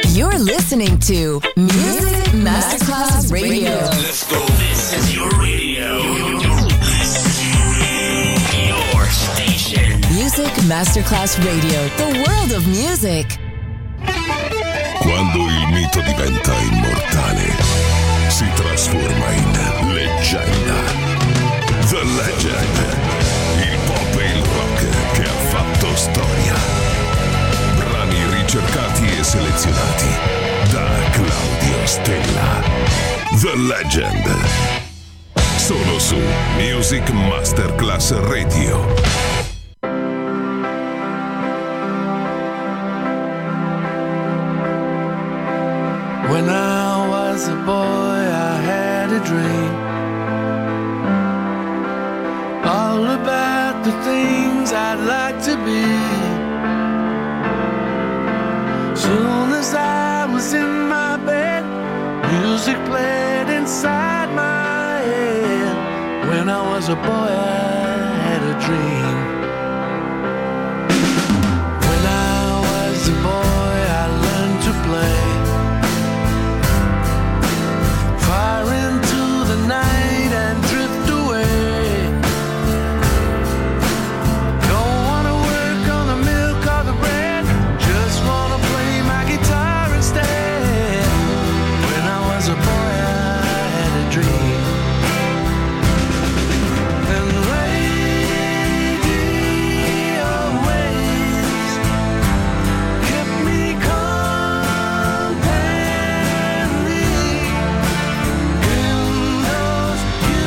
You're listening to Music Masterclass Radio. Let's go. This is your radio. Your station. Music Masterclass Radio. The world of music. Quando il mito diventa immortale, si trasforma in leggenda. The Legend. Il pop e il rock che ha fatto storia. Brani ricercati e selezionati da Claudio Stella. The Legend. Solo su Music Masterclass Radio. When I was a boy, I had a dream all about the things I'd like to be. Soon as I was in my bed, music played inside my head. When I was a boy, I had a dream. When I was a boy, I learned to play. Fire into the night and drift away. Don't wanna work on the milk or the bread, just wanna play my guitar instead. When I was a boy, I had a dream. And radio waves kept me company in those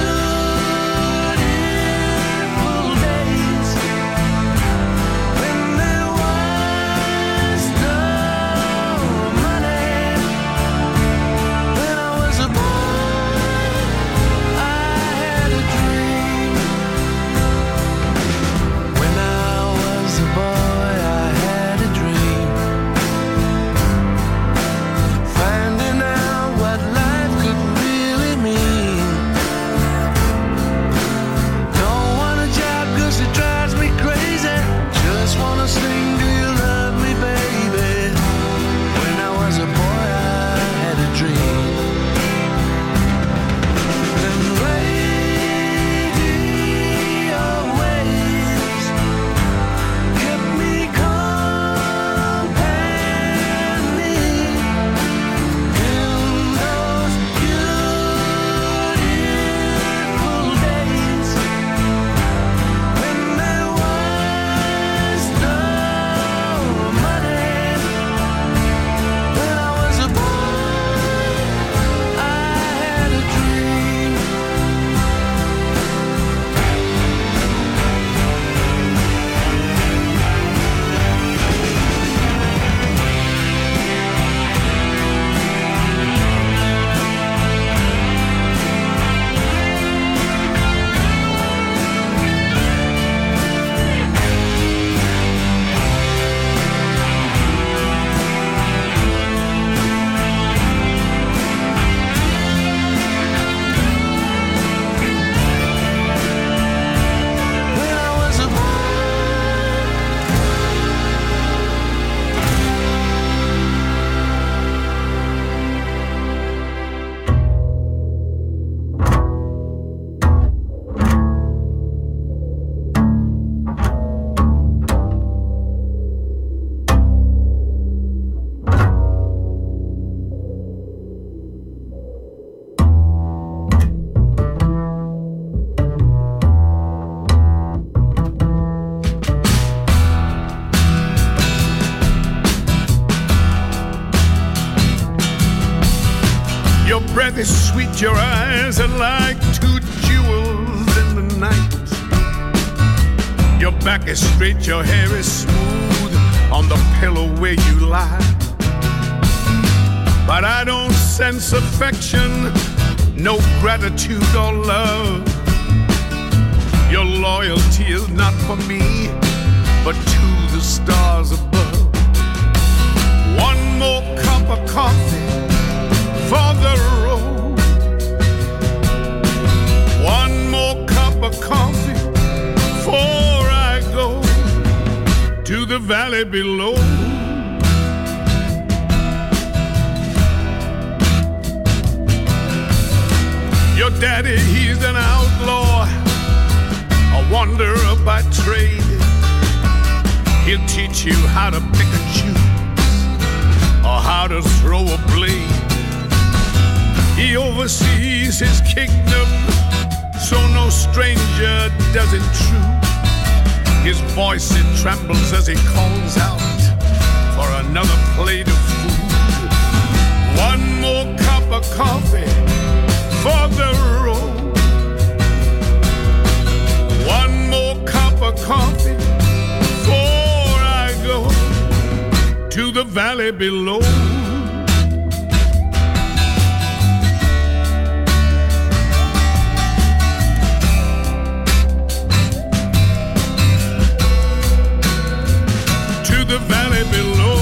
beautiful days when there was no money. When I was a boy, I had a dream. When I was a boy, I had a dream. Finding out what life could really mean. Don't want a job 'cause it drives me crazy. Just wanna sing, do you love me, baby? When I was a boy, I had a dream. And radio waves kept me company in those beautiful days when there was no money. When I was a boy, I had a dream. When I was a boy. Your breath is sweet, your eyes are like two jewels in the night. Your back is straight, your hair is smooth on the pillow where you lie. But I don't sense affection, no gratitude or love. Your loyalty is not for me, but to the stars above. One more cup of coffee for the road. One more cup of coffee before I go to the valley below. wanderer by trade. He'll teach you how to pick and choose, or how to throw a blade. He oversees his kingdom, so no stranger does intrude. His voice, it trembles as he calls out for another plate of food. One more cup of coffee for the road. One more cup of coffee before I go to the valley below. The valley below.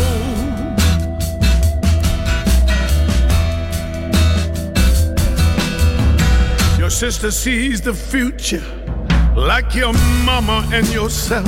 Your sister sees the future like your mama and yourself.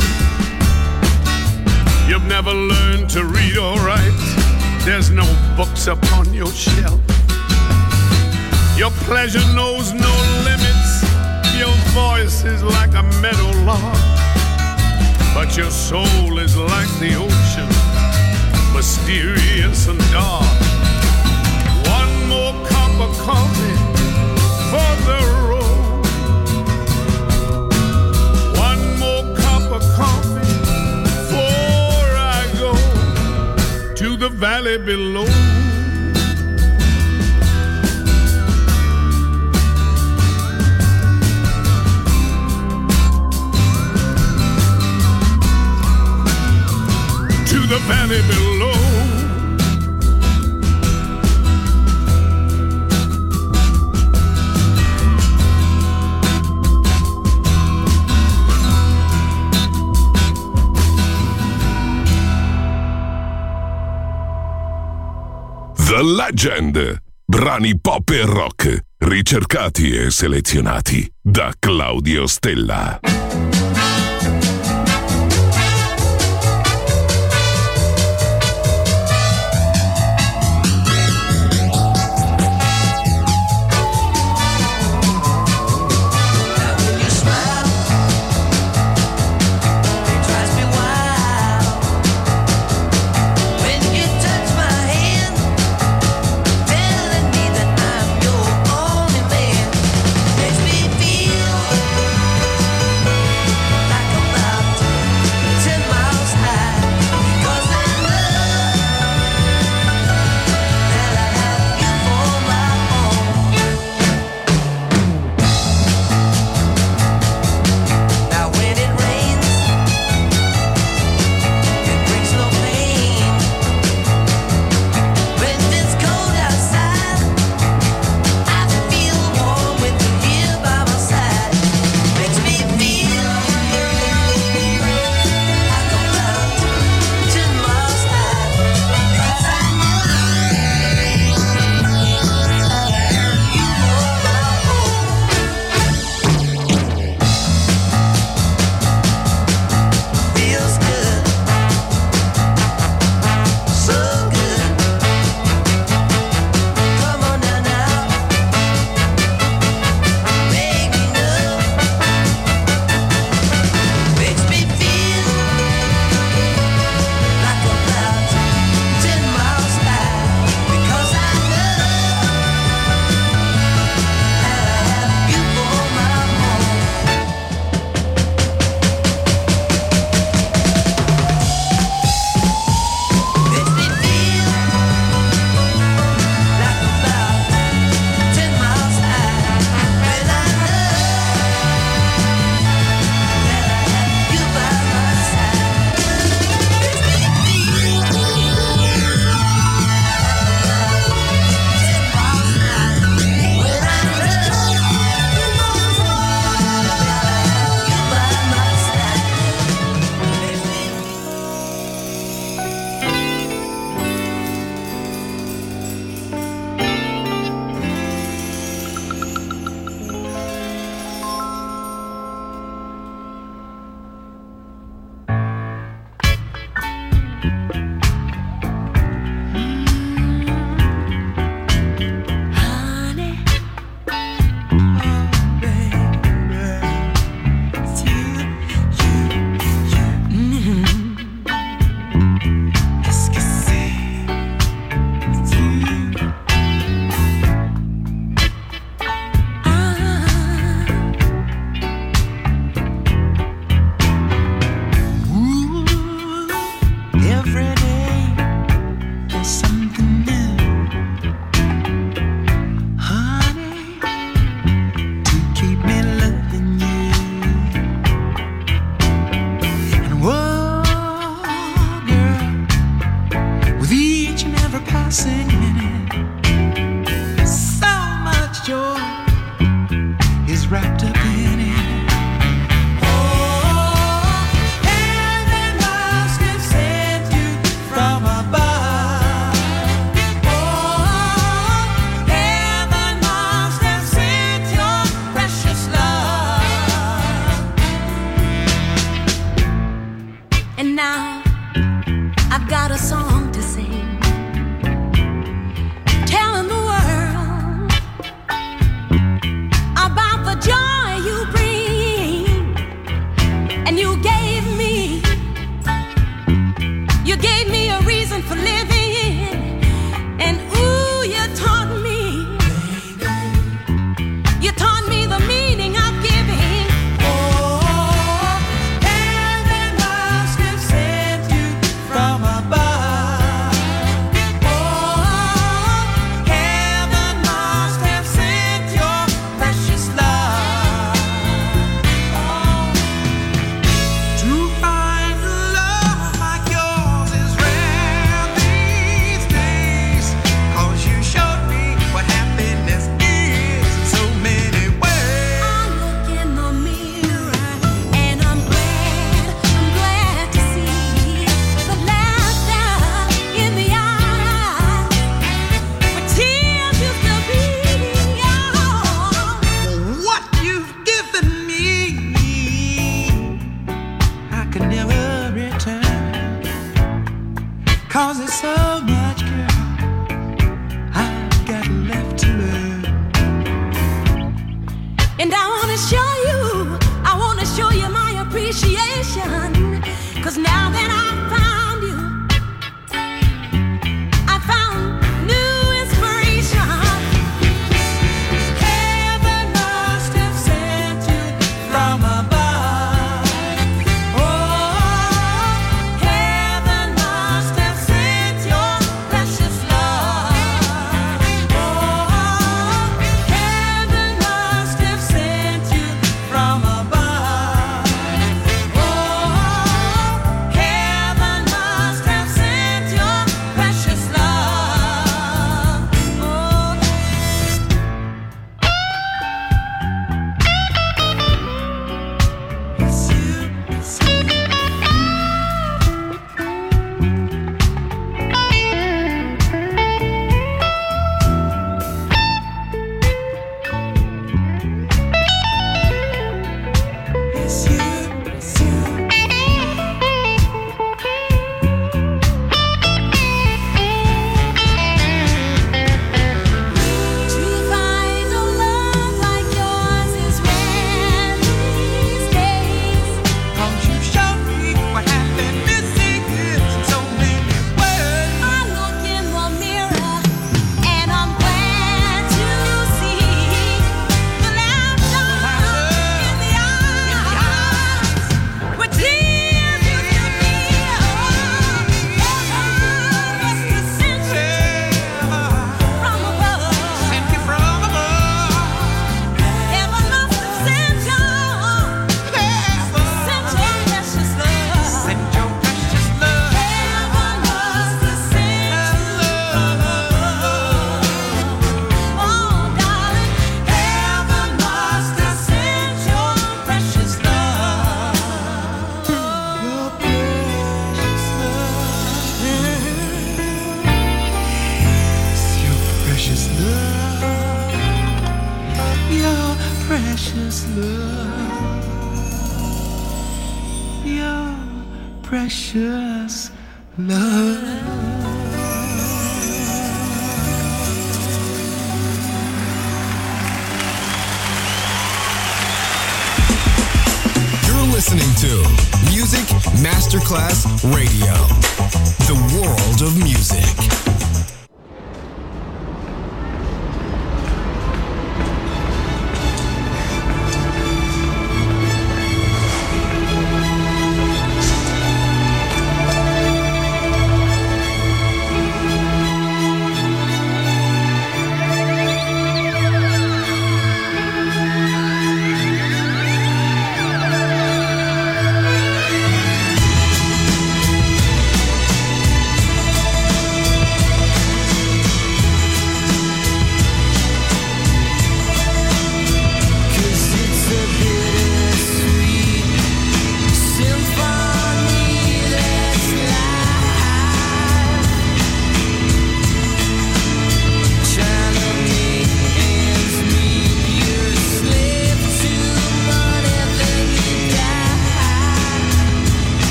You've never learned to read or write. There's no books upon your shelf. Your pleasure knows no limits. Your voice is like a meadowlark, but your soul is like the ocean, mysterious and dark. One more cup of coffee for the road. One more cup of coffee before I go to the valley below. To the valley below. The Legend. Brani pop e rock, ricercati e selezionati da Claudio Stella. Like singing it. So much joy is wrapped up in it. A song to sing, telling the world about the joy you bring. And you gave me a reason for living. And ooh, you taught me the meaning of giving. Oh, heaven must have sent you from above. Cause there's so much, girl, I've got left to learn. And I wanna show you my appreciation. Cause now that I've found you, I found new inspiration. Heaven must have sent you from above. Precious love, your precious love. You're listening to Music Masterclass Radio, the world of music.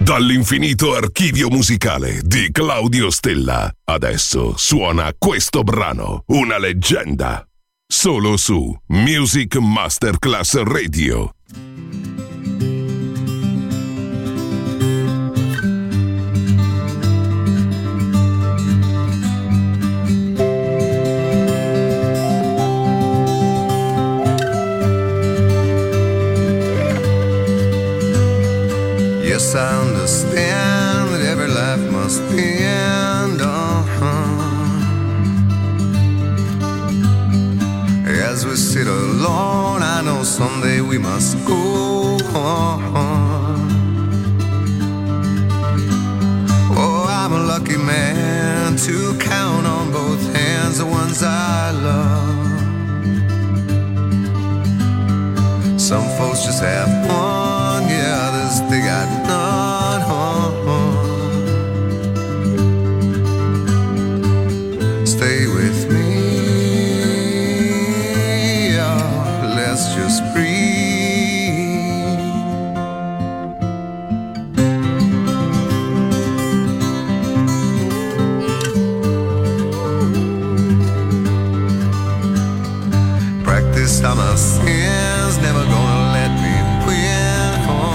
Dall'infinito archivio musicale di Claudio Stella. Adesso suona questo brano, una leggenda. Solo su Music Masterclass Radio. Yes, I understand that every life must end. As we sit alone, I know someday we must go on. Oh, I'm a lucky man to count on both hands the ones I love. Some folks just have one, yeah, others they got none. Stay with me, oh, let's just breathe. Practice on my sins, never gonna let me win.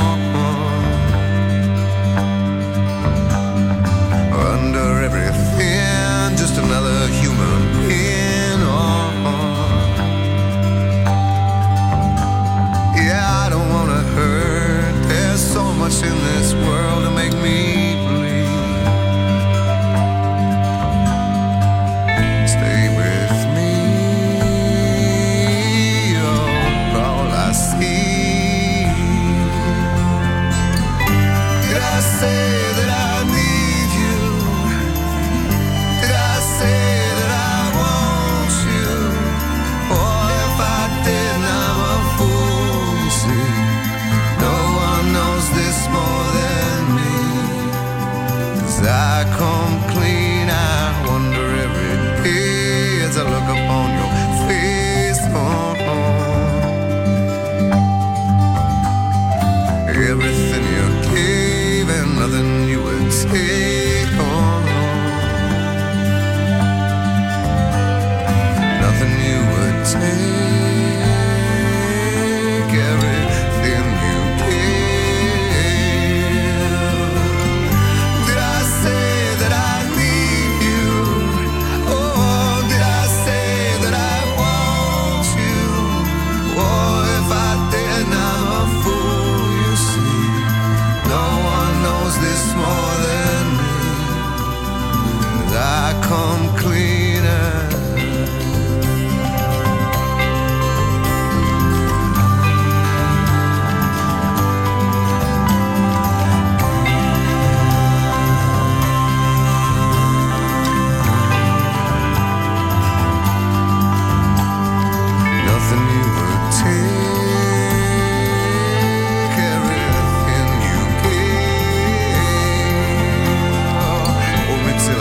Under everything, just another human being. Yeah, I don't wanna hurt. There's so much in this world to make me bleed. Stay with me, oh, all I see. Did I say that I need you? Did I say that I want you? Or if I did, I'm a fool, you see. No one knows this more than me. 'Cause I come clean, I wonder every day as I look upon your face. Everything you gave and nothing you would take. Nothing you would take. Everything you give. Did I say that I need you? Oh, did I say that I want you? Oh, if I did, I'm a fool, you see. No one knows this more than me. 'Cause I come cleaner. Nothing you would take, everything you gave. Hold me till I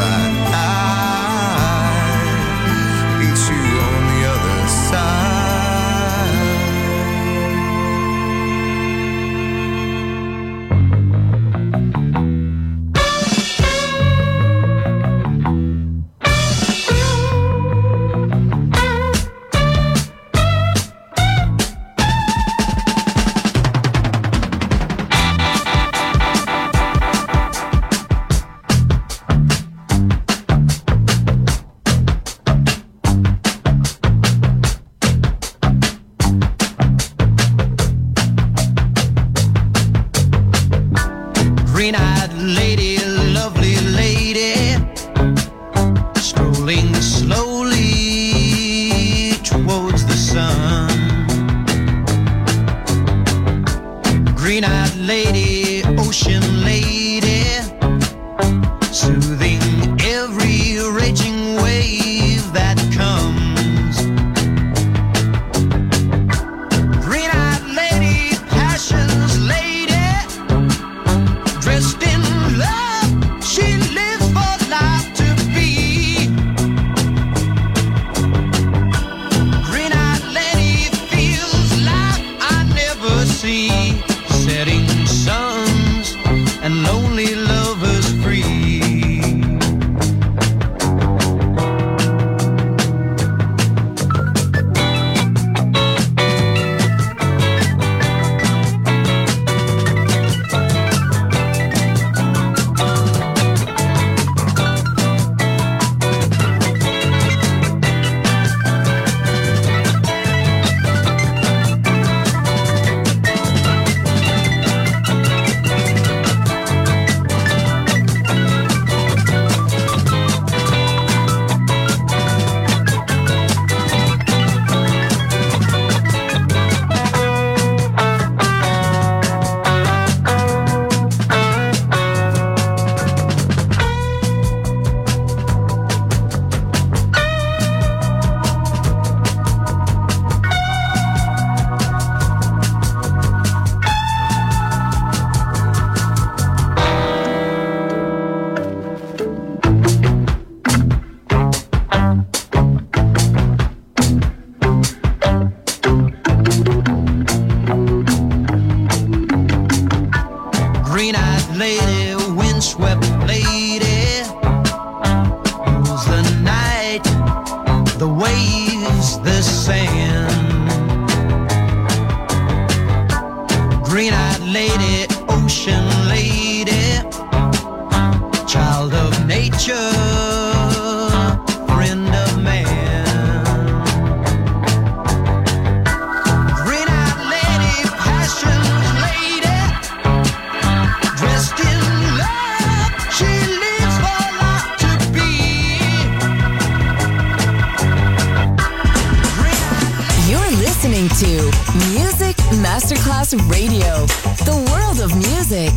die, meet you on the other Green-eyed lady, lovely lady, strolling slowly towards the sun. Green-eyed lady, ocean lady, soothing every raging wave that comes. Green-eyed lady, passion's lady, dressed in love, she lives for life to be. Green-eyed lady feels life I never see. Setting suns and low lady, ocean lady, child of nature, friend of man. Green-eyed lady, passion lady, dressed in love, she lives for life to be. You're listening to Music Masterclass Radio, the world of music.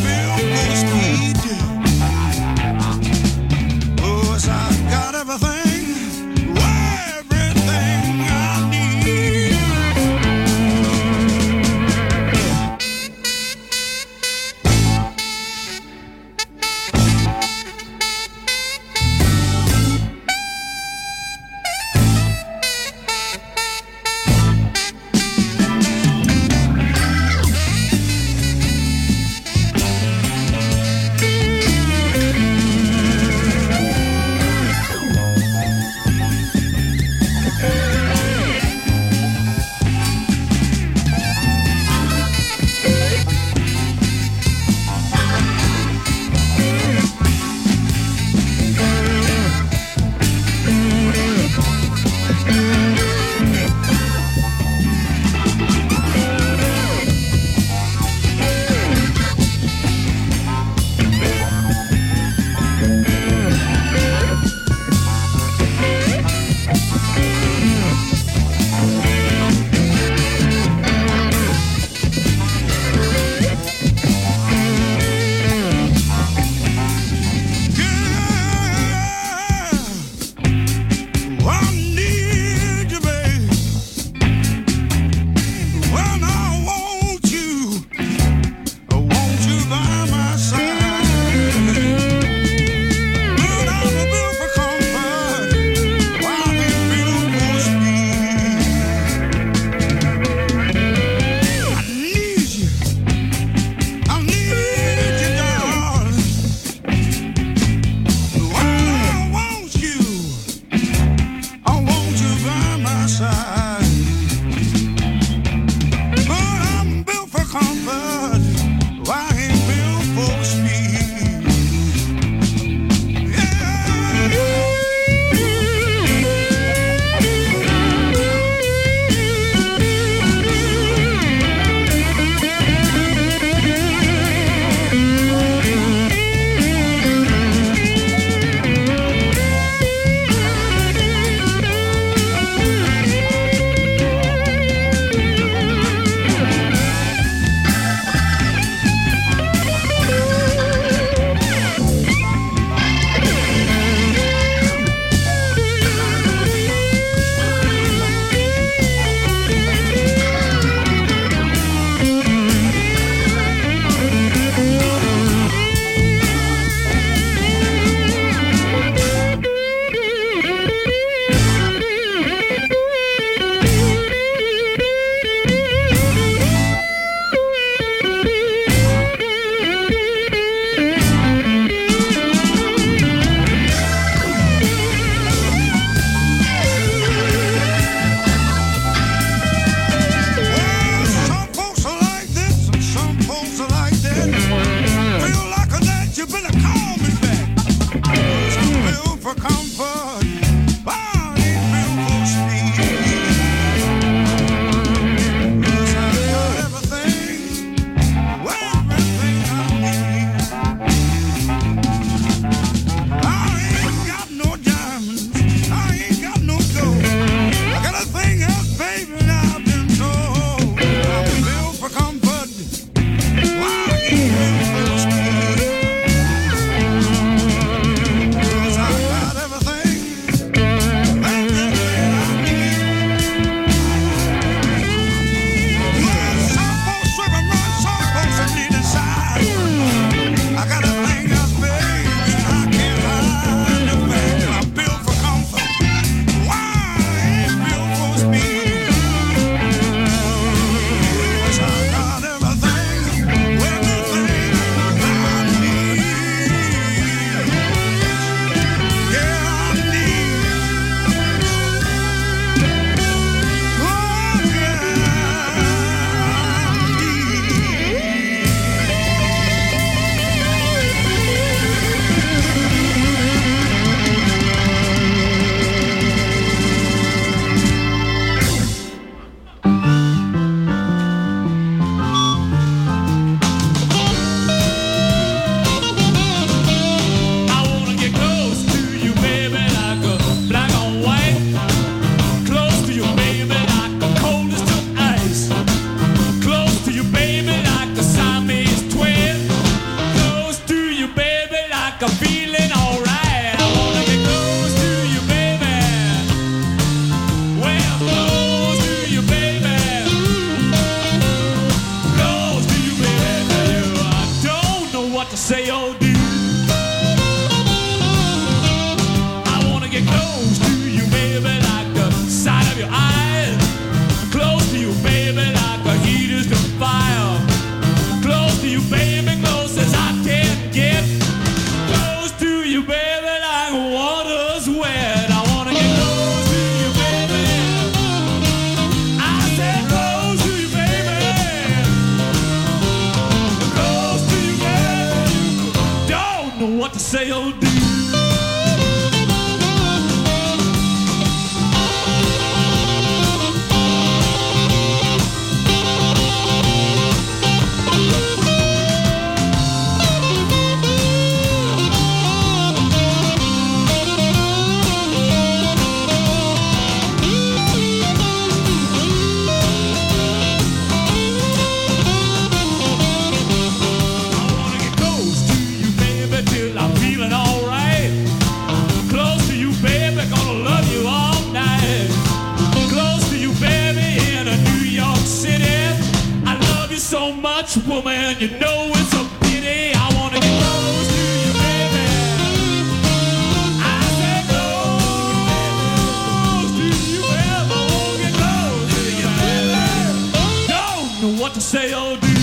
Everything say or do. Woman, you know it's a pity. I wanna get close to you, baby. I said close to you, baby. I wanna get close to you, baby. Don't know what to say or do.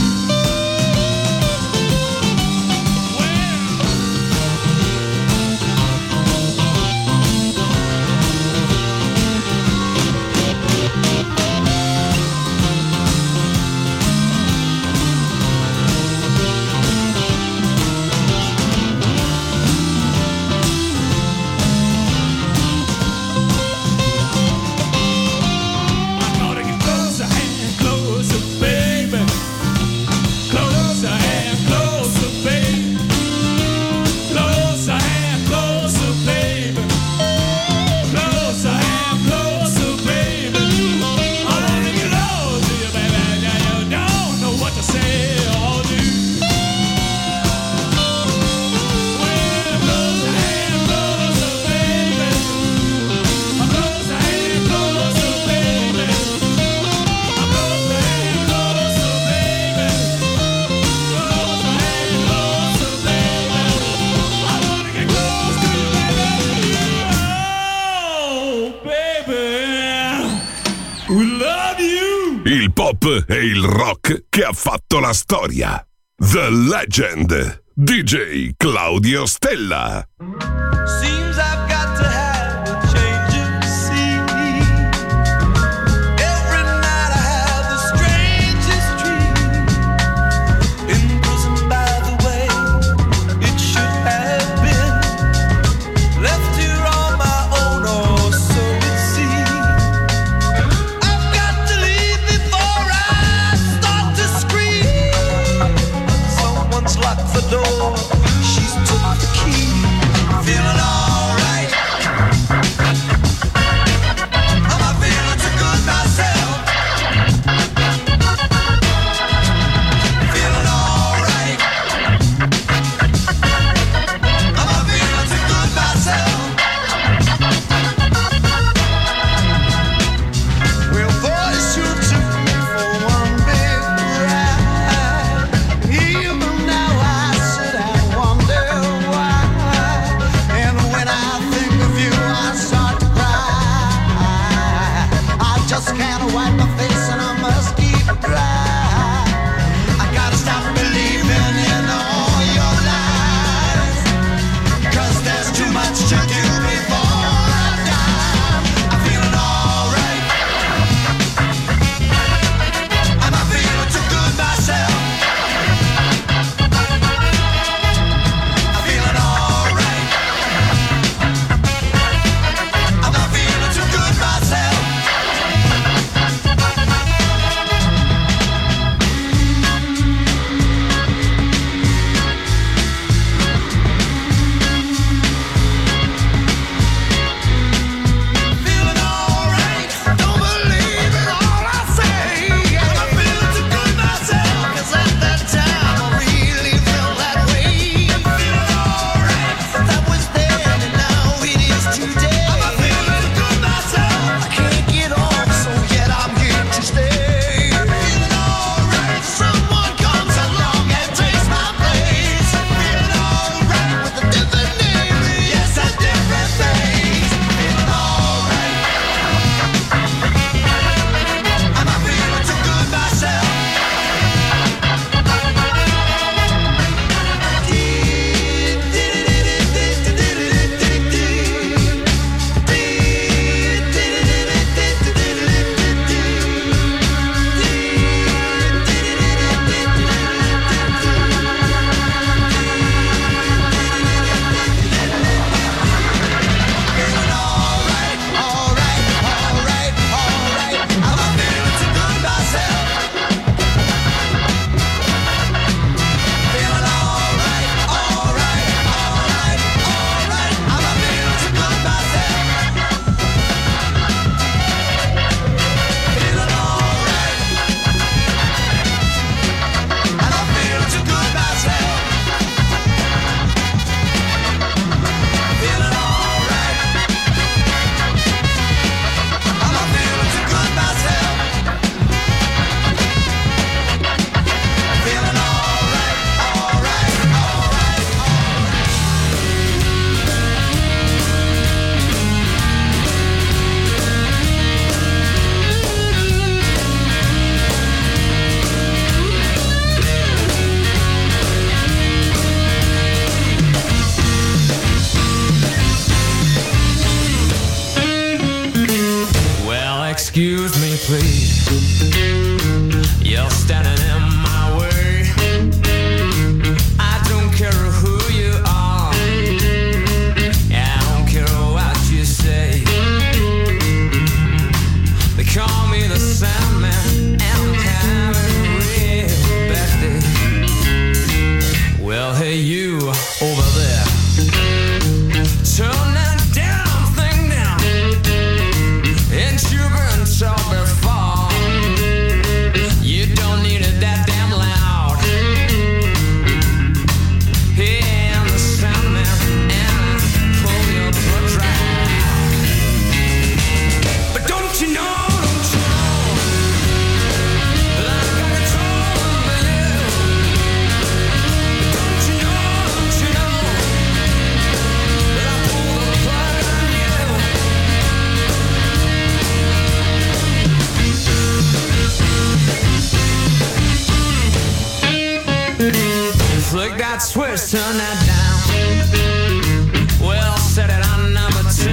E il rock che ha fatto la storia. The Legend, DJ Claudio Stella. Seems I've got to have a change of scene. Every night I have the strangest dream. Imprisoned by the way it should have been. Left here on my own, or so it seems. I've got to leave before I start to scream. Someone's locked the door, she's took the key. Feel Excuse me, please. You're standing in my way. I don't care who you are. I don't care what you say. They call me the Sandman, and I'm having a real bad day. Well, hey, you over there, turn that damn thing down. Ain't you been told before? You don't need it that damn loud. Hey, I'm the Sandman, and I pull your blood dry. But don't you know? Flick that switch, turn that down. Well, set it on number 2.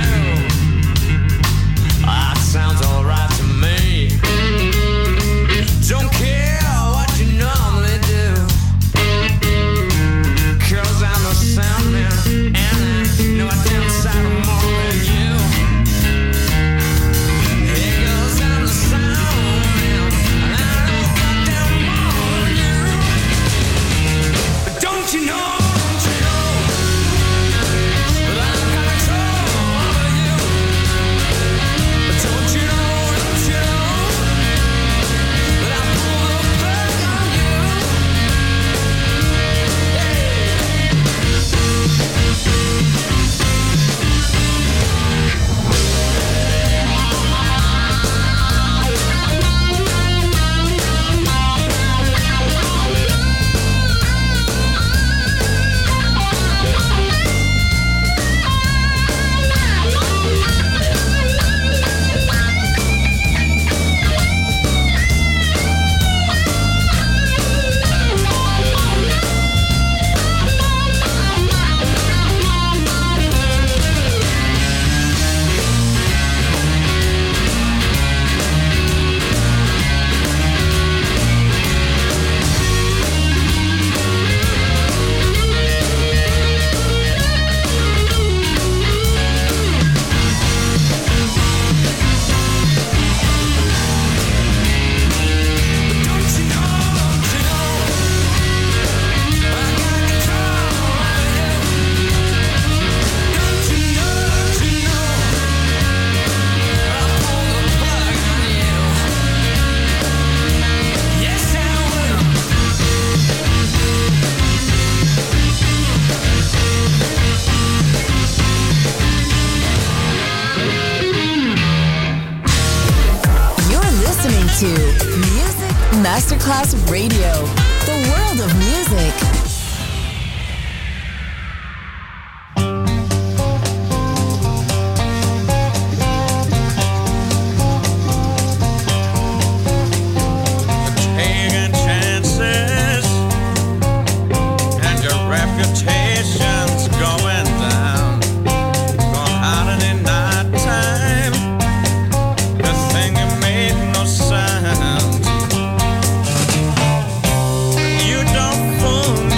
That sounds alright to me. Don't care what you normally do, 'cause I'm the Sandman, and I know I damn sight more than you. Hey, 'cause I'm the Sandman, and I know goddamn more than you. But don't you know? To Music Masterclass Radio, the world of music. Taking chances, and your reputation's going down. Gone out in the night time. The thing you made no sound. You don't fool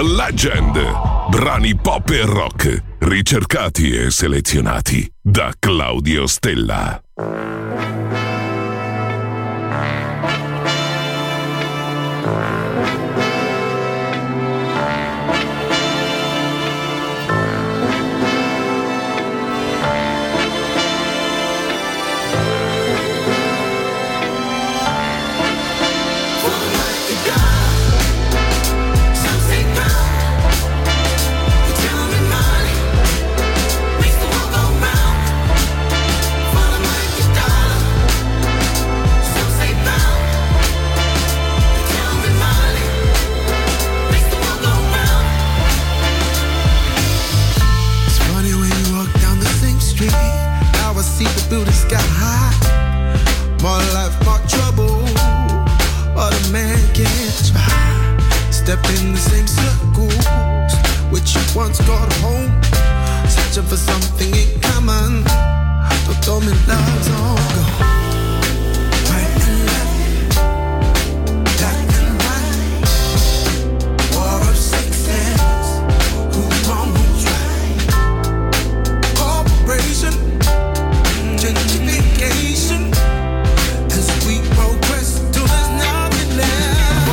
Legend. Brani pop e rock, ricercati e selezionati da Claudio Stella. Step in the same circles which you once called home, searching for something in common. Don't tell me love's all gone. Right and left, black and white, war of sexes, who's wrong, who's right? Corporation, gentrification, as we progress till there's nothing left.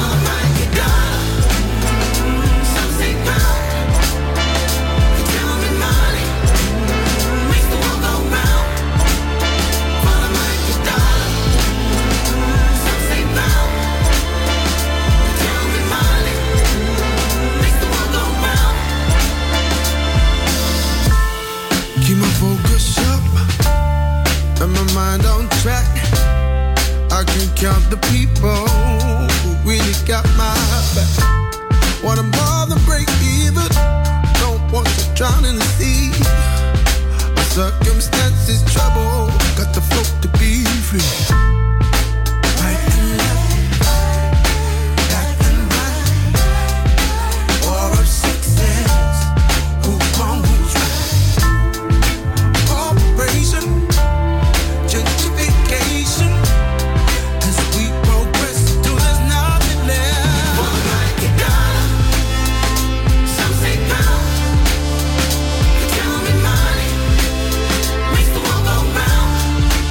Mind on track, I can count the people who really got my back. Want 'em more than break even, don't want to drown in the sea. My circumstances trouble, got the float to be free. Right and left, black and white, war of sexes, who's wrong, who's right? Corporation, gentrification, as we progress till there's nothing left. One like a dollar, some say pound. You tell me money makes the world go round.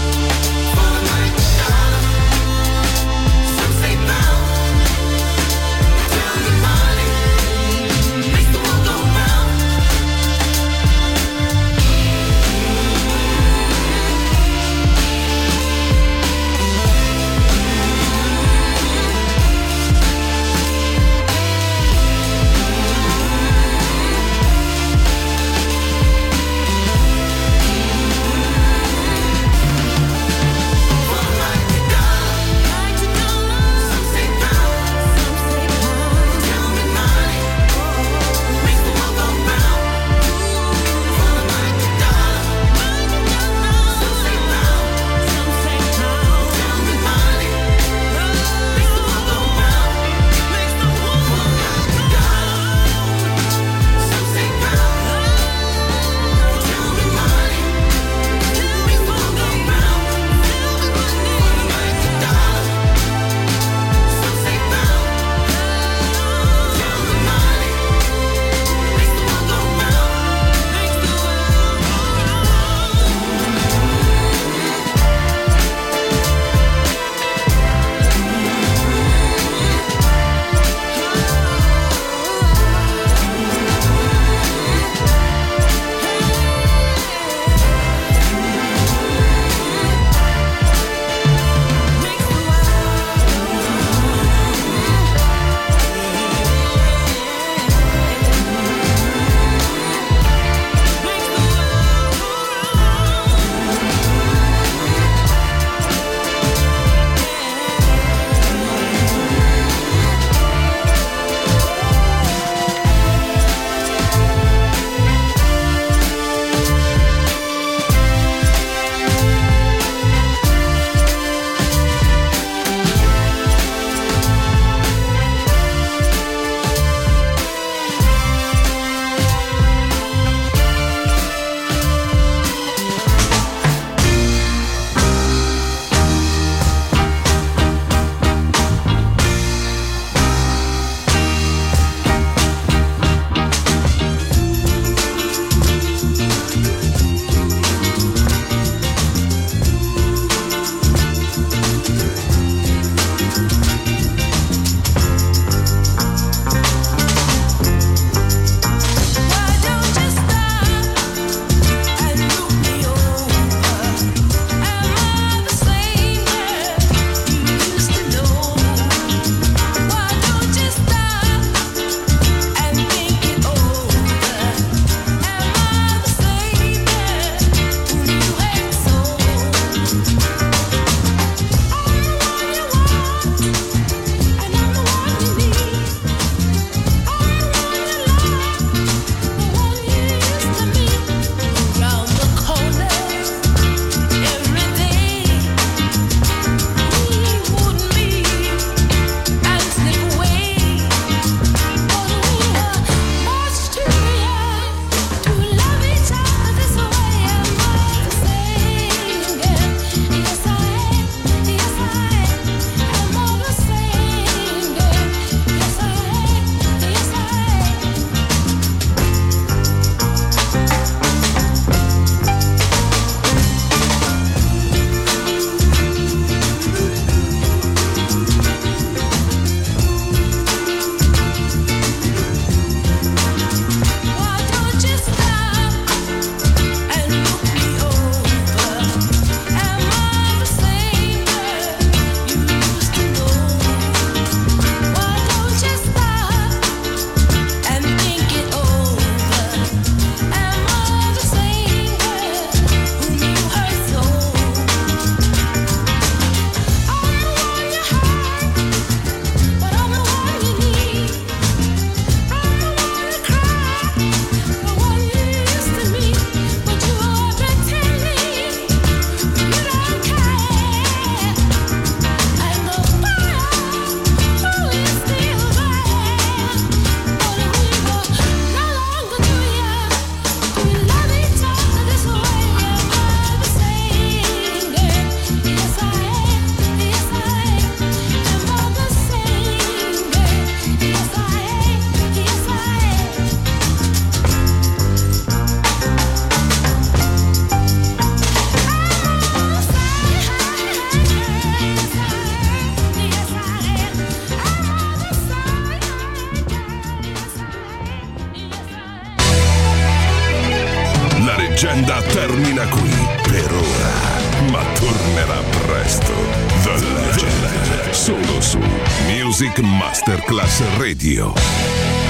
leggenda termina qui per ora, ma tornerà presto. The Legend, solo su Music Masterclass Radio.